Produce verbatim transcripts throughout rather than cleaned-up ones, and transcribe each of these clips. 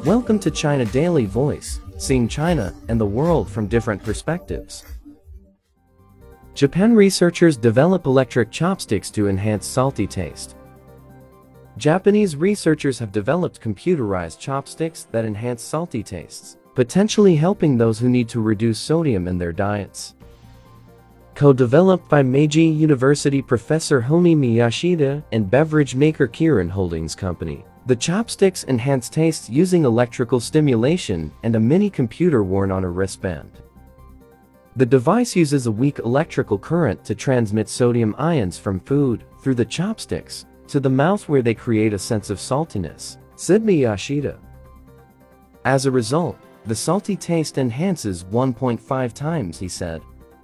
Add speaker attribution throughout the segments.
Speaker 1: Welcome to China Daily Voice, seeing China and the world from different perspectives. Japan researchers develop electric chopsticks to enhance salty taste. Japanese researchers have developed computerized chopsticks that enhance salty tastes, potentially helping those who need to reduce sodium in their diets. Co-developed by Meiji University professor Homi Miyashita and beverage maker Kirin Holdings Company, the chopsticks enhance taste using electrical stimulation and a mini computer worn on a wristband. The device uses a weak electrical current to transmit sodium ions from food, through the chopsticks, to the mouth where they create a sense of saltiness, said Miyashita. As a result, the salty taste enhances one point five times, he said.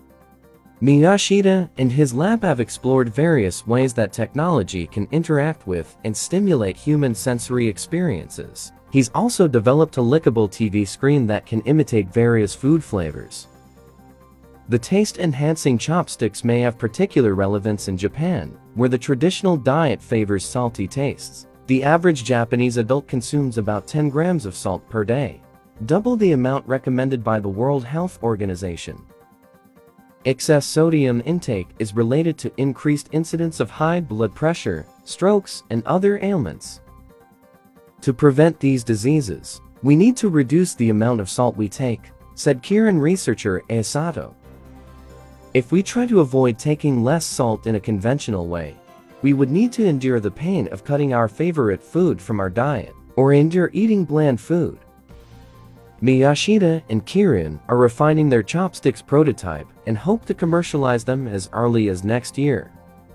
Speaker 1: Miyashita and his lab have explored various ways that technology can interact with and stimulate human sensory experiences. He's also developed a lickable T V screen that can imitate various food flavors. The taste-enhancing chopsticks may have particular relevance in Japan, where the traditional diet favors salty tastes. The average Japanese adult consumes about ten grams of salt per day, double the amount recommended by the World Health Organization. Excess sodium intake is related to increased incidence of high blood pressure, strokes, and other ailments. To prevent these diseases, we need to reduce the amount of salt we take, said Kirin researcher Asato. If we try to avoid taking less salt in a conventional way, we would need to endure the pain of cutting our favorite food from our diet, or endure eating bland food. Miyashita and Kirin are refining their chopsticks prototype and hope to commercialize them as early as next year.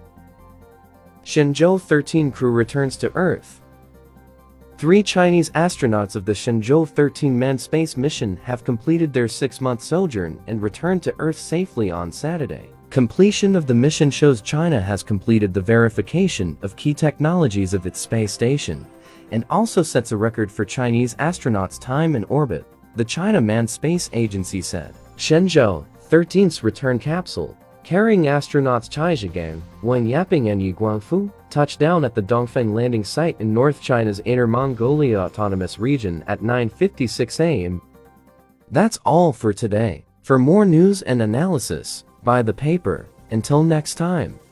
Speaker 1: Shenzhou thirteen crew returns to Earth. Three Chinese astronauts of the Shenzhou thirteen manned space mission have completed their six-month sojourn and returned to Earth safely on Saturday. Completion of the mission shows China has completed the verification of key technologies of its space station, and also sets a record for Chinese astronauts' time in orbit, the China Manned Space Agency said. Shenzhou thirteen's return capsule, carrying astronauts Cai Zhigang, Wang Yaping and Yu Guangfu, touched down at the Dongfeng landing site in North China's Inner Mongolia Autonomous Region at nine fifty-six a m That's all for today. For more news and analysis, buy the paper. Until next time.